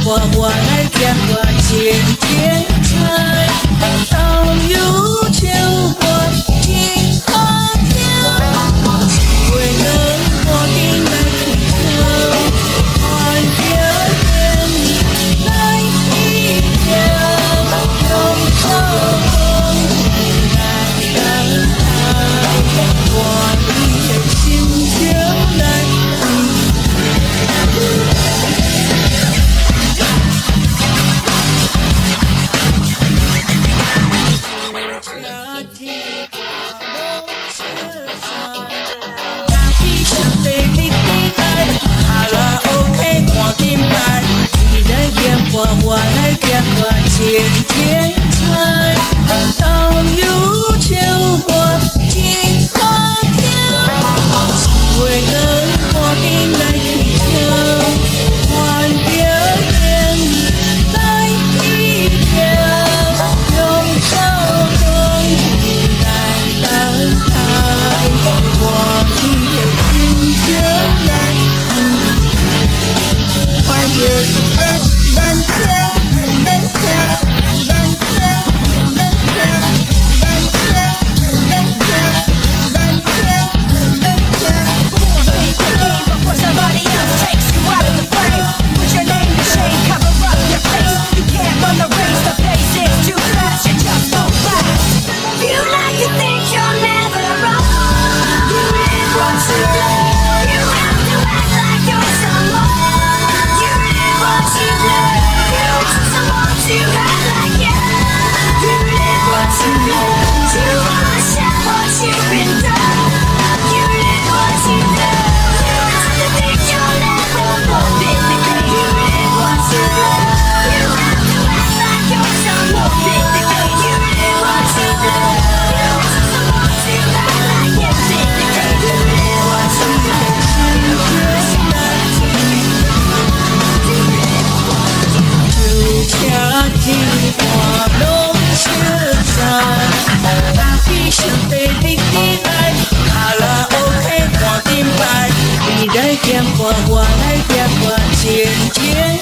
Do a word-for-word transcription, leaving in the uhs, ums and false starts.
我我来见我千千菜，到有秋我金花飘，为了我的来听歌，换表演来一条，用手来等待，我的心就来。我我来见我千千菜，到有秋我金花飘，为了我的来听换表演来一条，用手中来等待，我的心就来换表演。我我来点我千千。